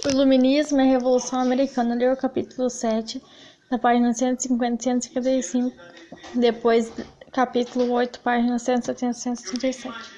O Iluminismo e a Revolução Americana. Leu o capítulo 7, da página 150 e 155, depois capítulo 8, página 170 e 177.